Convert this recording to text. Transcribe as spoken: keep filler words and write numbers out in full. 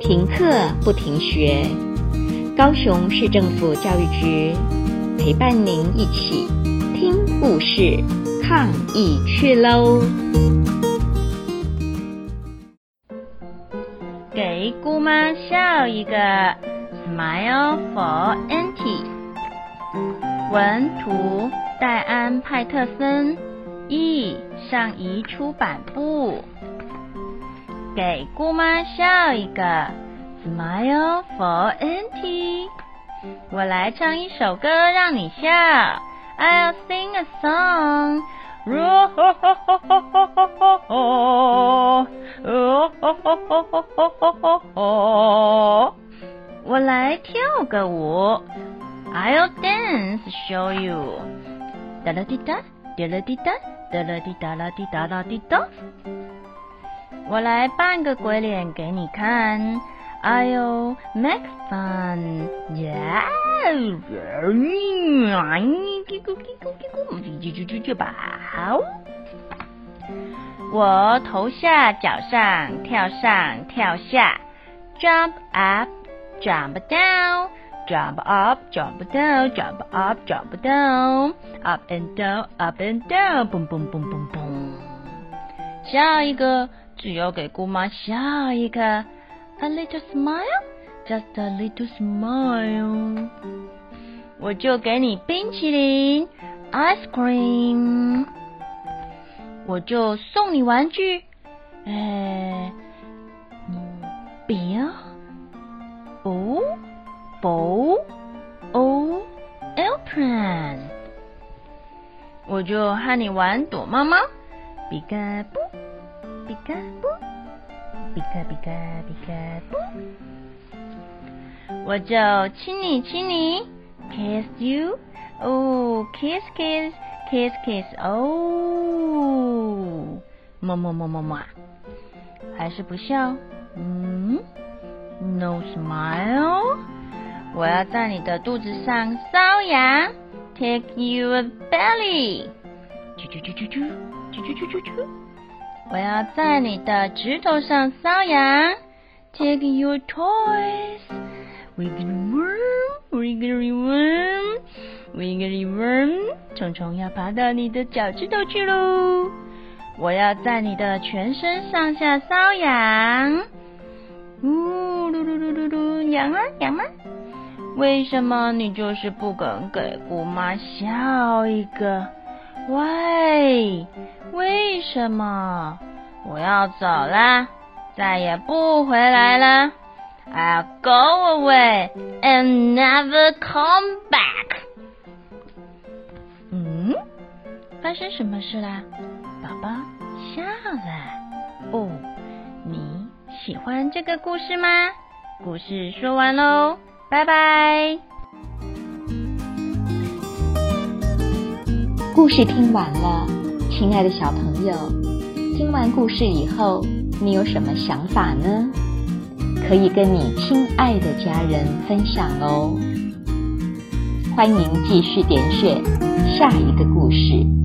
停課不停學，高雄市政府教育局陪伴您一起聽故事，抗疫去嘍！ 給姑媽笑一個 Smile for Auntie。 文圖戴安派特森，譯上誼出版部。給姑媽笑一個 Smile for Auntie。 我來唱一首歌讓你笑， I'll sing a song。 我來跳個舞， I'll dance show you。 噠啦滴噠，噠啦滴噠，噠啦滴噠啦滴噠啦滴噠。我來扮個鬼臉給你看， I'll make fun。 Yeah。 我頭下腳上跳上跳下， Jump up jump down jump up jump down jump up jump down up and down up and down boom boom boom boom boom。 下一個只有給姑媽笑一個， A little smile just a little smile。 我就給你冰淇淋 Ice cream。 我就送你玩具，哎，筆啊，哦，bow哦 airplane。 我就和你玩躲貓貓，比卡布比卡布比卡比卡比卡布。我就親你親你 kiss you， 哦 kiss kiss kiss kiss， 哦，麼麼麼麼麼，還是不笑，嗯 no smile。 我要在你的肚子上搔癢， take you a belly， 啾啾啾啾啾啾啾啾啾啾。我要在你的指頭上搔癢， take your toys， wiggly worm wiggly worm wiggly worm。 蟲蟲要爬到你的腳趾頭去嘍。我要在你的全身上下搔癢，嗚嚕嚕嚕嚕嚕，癢嗎癢嗎？為什麼你就是不肯給姑媽笑一個？喂，為什麼？我要走啦，再也不回來了。I'll go away and never come back。 嗯，發生什麼事啦？寶寶笑了。哦，你喜歡這個故事嗎？故事說完嘍，拜拜。 故事聽完了，親愛的小朋友，聽完故事以後，你有什麼想法呢？可以跟你親愛的家人分享哦。歡迎繼續點選下一個故事。